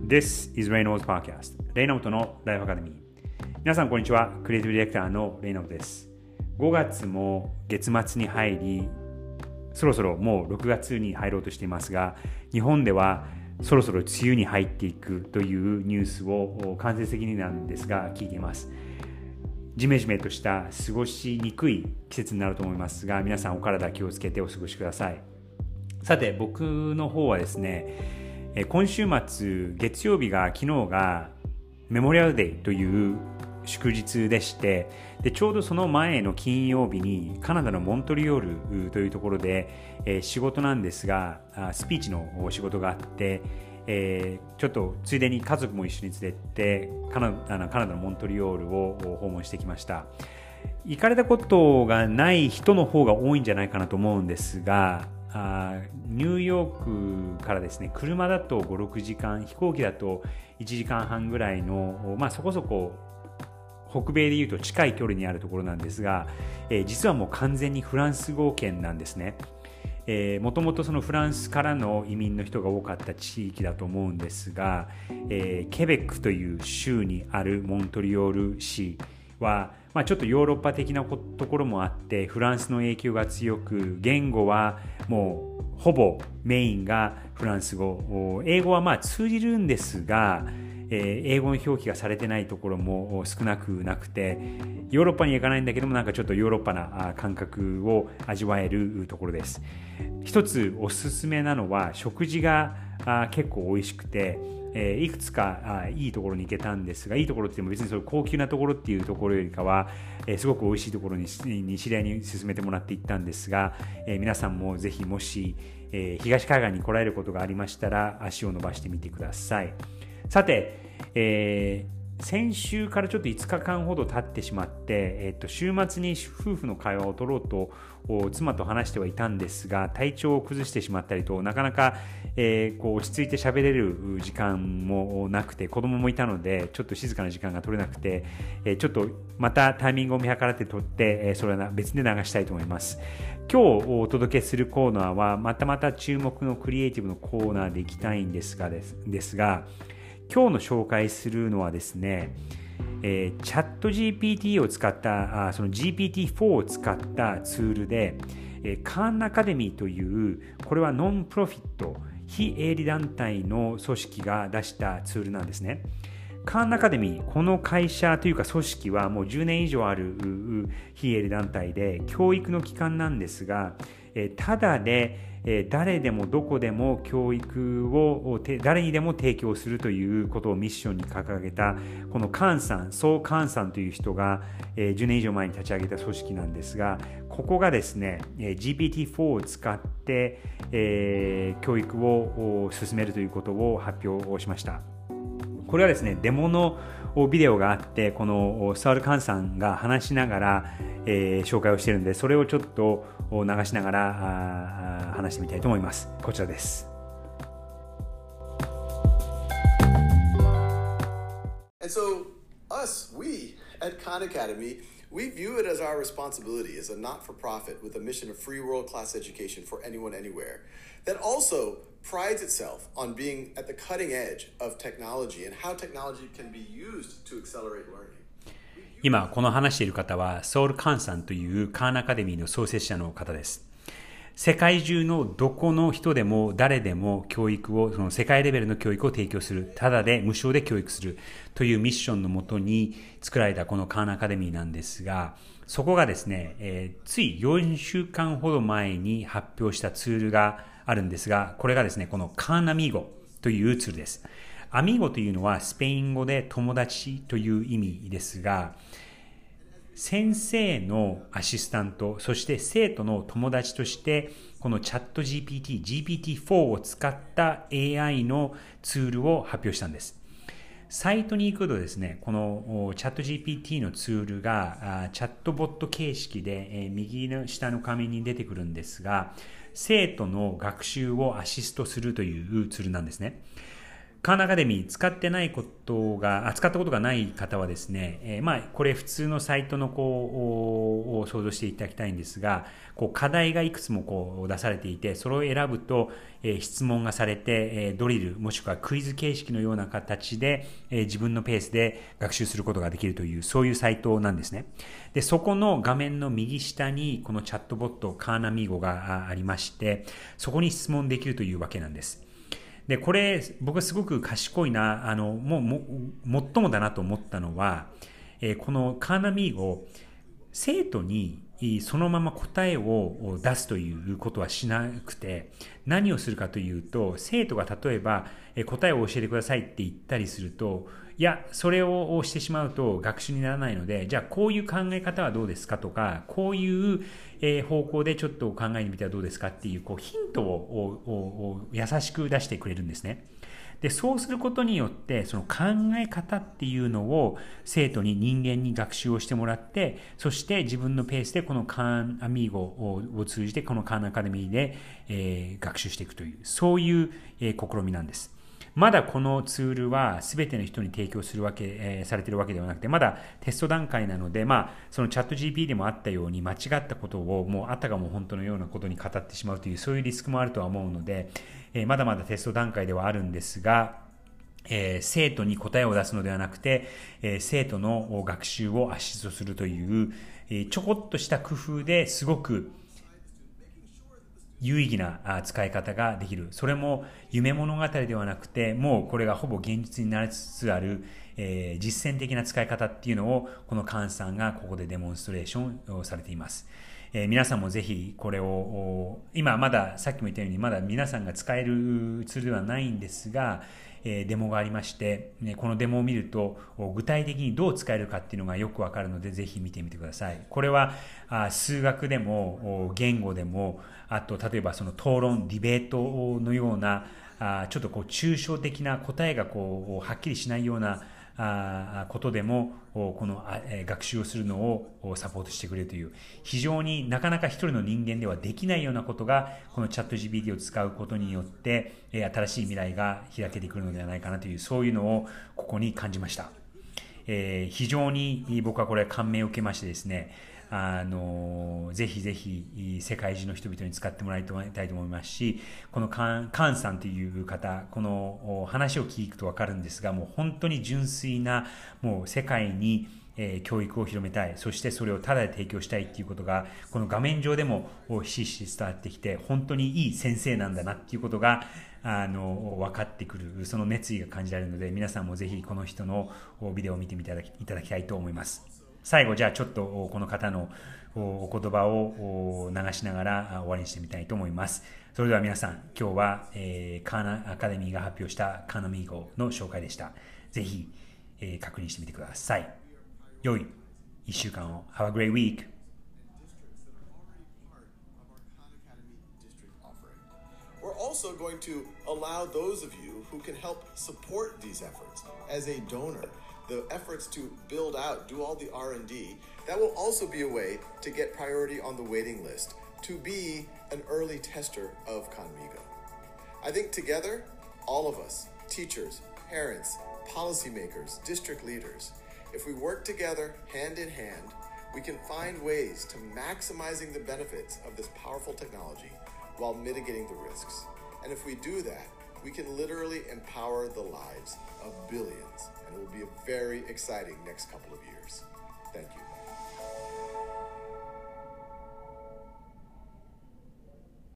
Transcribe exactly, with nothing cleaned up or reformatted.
This is Reynolds Podcast レイナウトのライフアカデミー。皆さんこんにちは。クリエイティブディレクターのレイナウトです。ごがつも月末に入り、そろそろもうろくがつに入ろうとしていますが、日本ではそろそろ梅雨に入っていくというニュースを間接的になんですが聞いています。ジメジメとした過ごしにくい季節になると思いますが、皆さんお体気をつけてお過ごしください。さて、僕の方はですね、今週末月曜日が昨日がメモリアルデーという祝日でして、でちょうどその前の金曜日にカナダのモントリオールというところで、えー、仕事なんですがスピーチの仕事があって、えー、ちょっとついでに家族も一緒に連れてカナあのカナダのモントリオールを訪問してきました。行かれたことがない人の方が多いんじゃないかなと思うんですが、あニューヨークからですね、車だとご、ろくじかん、飛行機だといちじかんはんぐらいの、まあ、そこそこ北米でいうと近い距離にあるところなんですが、えー、実はもう完全にフランス語圏なんですね。もともとそのフランスからの移民の人が多かった地域だと思うんですが、えー、ケベックという州にあるモントリオール市は、まあ、ちょっとヨーロッパ的なところもあってフランスの影響が強く、言語はもうほぼメインがフランス語、英語はまあ通じるんですが、えー、英語の表記がされてないところも少なくなくて、ヨーロッパに行かないんだけどもなんかちょっとヨーロッパな感覚を味わえるところです。一つおすすめなのは食事が結構美味しくて、えー、いくつかいいところに行けたんですが、いいところって言っても別にそういう高級なところっていうところよりかは、えー、すごく美味しいところに知り合いに勧めてもらって行ったんですが、えー、皆さんもぜひもし、えー、東海岸に来られることがありましたら足を伸ばしてみてください。さて、えー先週からちょっといつかかんほど経ってしまって、えっと、週末に夫婦の会話を取ろうと妻と話してはいたんですが、体調を崩してしまったりとなかなか、えー、こう落ち着いて喋れる時間もなくて、子供もいたのでちょっと静かな時間が取れなくて、えー、ちょっとまたタイミングを見計らって取って、えー、それは別で流したいと思います。今日お届けするコーナーはまたまた注目のクリエイティブのコーナーでいきたいんですがです、ですが今日の紹介するのはですね、えー、チャット ジーピーティー を使ったあその ジーピーティーフォー を使ったツールで、えー、カーンアカデミーというこれはノンプロフィット非営利団体の組織が出したツールなんですね。カーンアカデミー、この会社というか組織はもうじゅうねん以上ある非営利団体で教育の機関なんですが、えー、ただで誰でもどこでも教育を誰にでも提供するということをミッションに掲げたこのカーンさん、ソー・カーンさんという人がじゅうねん以上前に立ち上げた組織なんですが、ここがですね ジーピーティーフォー を使って教育を進めるということを発表をしました。これはですね、デモのビデオがあって、このサール・カーンさんが話しながら、えー、紹介をしているので、それをちょっと流しながら話してみたいと思います。こちらです。 And so us, we at Khan Academy, we view it as our responsibility as a not-for-profit with a mission of free world-class education for anyone, anywhere, that also prides itself on being at the cutting edge of technology and how technology can be used to accelerate learning. 今この話している方はソール・カーンさんというカーンアカデミーの創設者の方です。世界中のどこの人でも誰でも教育を、その世界レベルの教育を提供する、ただで無償で教育するというミッションのもとに作られたこのカーンアカデミーなんですが、そこがですね、えー、ついよんしゅうかんほど前に発表したツールがあるんですが、これがですね、このカーンアミーゴというツールです。アミーゴというのはスペイン語で友達という意味ですが、先生のアシスタント、そして生徒の友達としてこのチャット ジーピーティー、ジーピーティーフォー を使った エーアイ のツールを発表したんです。サイトに行くとですね、このチャット ジーピーティー のツールがチャットボット形式で右の下の画面に出てくるんですが、生徒の学習をアシストするというツールなんですね。 カーンアカデミー使ってないことが、使ったことがない方はですね、えー、まあ、これ普通のサイトのこう、を想像していただきたいんですが、こう課題がいくつもこう出されていて、それを選ぶと、えー、質問がされて、えー、ドリル、もしくはクイズ形式のような形で、えー、自分のペースで学習することができるという、そういうサイトなんですね。で、そこの画面の右下に、このチャットボット、カーナミーゴがありまして、そこに質問できるというわけなんです。で、これ、僕はすごく賢いな、あの、もう、も、最もだなと思ったのは、えー、このカーナミーゴ、生徒にそのまま答えを出すということはしなくて、何をするかというと、生徒が例えば答えを教えてくださいって言ったりすると、いや、それをしてしまうと学習にならないので、じゃあこういう考え方はどうですかとか、こういう方向でちょっと考えてみてはどうですかっていう、こうヒントを優しく出してくれるんですね。で、そうすることによって、その考え方っていうのを生徒に人間に学習をしてもらって、そして自分のペースでこのカーンアミーゴを通じてこのカーンアカデミーで、えー、学習していくという、そういう、えー、試みなんです。まだこのツールは全ての人に提供するわけ、えー、されているわけではなくて、まだテスト段階なので、まあ、そのチャット ジーピー でもあったように間違ったことをもうあたかも本当のようなことに語ってしまうという、そういうリスクもあるとは思うので、えー、まだまだテスト段階ではあるんですが、えー、生徒に答えを出すのではなくて、えー、生徒の学習をアシストするという、えー、ちょこっとした工夫ですごく有意義な使い方ができる。それも夢物語ではなくて、もうこれがほぼ現実になりつつある、えー、実践的な使い方っていうのを、このカーンさんがここでデモンストレーションされています。えー、皆さんもぜひこれを、今まださっきも言ったように、まだ皆さんが使えるツールではないんですが、デモがありまして、このデモを見ると具体的にどう使えるかっていうのがよくわかるので、ぜひ見てみてください。これは数学でも言語でも、あと例えばその討論、ディベートのようなちょっとこう抽象的な答えがこうはっきりしないようなことでもこの学習をするのをサポートしてくれるという、非常になかなか一人の人間ではできないようなことがこのチャット ジーピーティー を使うことによって新しい未来が開けてくるのではないかなという、そういうのをここに感じました。えー、非常に僕はこれ感銘を受けましてですね、あのぜひぜひ世界中の人々に使ってもらいたいと思いますし、このカン、カンさんという方、この話を聞くと分かるんですが、もう本当に純粋な、もう世界にえー、教育を広めたい、そしてそれをタダで提供したいっていうことがこの画面上でもひしひし伝わってきて、本当にいい先生なんだなっていうことがあの分かってくる、その熱意が感じられるので、皆さんもぜひこの人のビデオを見てみていただき、いただきたいと思います。最後、じゃあちょっとこの方のお言葉を流しながら終わりにしてみたいと思います。それでは皆さん、今日は、えー、カーナアカデミーが発表したカーナミーゴの紹介でした。ぜひ、えー、確認してみてください。良いいっしゅうかんを。Have a great week! We're also going to allow those of you who can help support these efforts as a donor, the efforts to build out, do all the R and D, that will also be a way to get priority on the waiting list, to be an early tester of Khanmigo. I think together, all of us, teachers, parents, policymakers, district leaders, if we work together hand in hand, we can find ways to maximizing the benefits of this powerful technology while mitigating the risks. And if we do that, we can literally empower the lives of billions. And it will be a very exciting next couple of years. Thank you.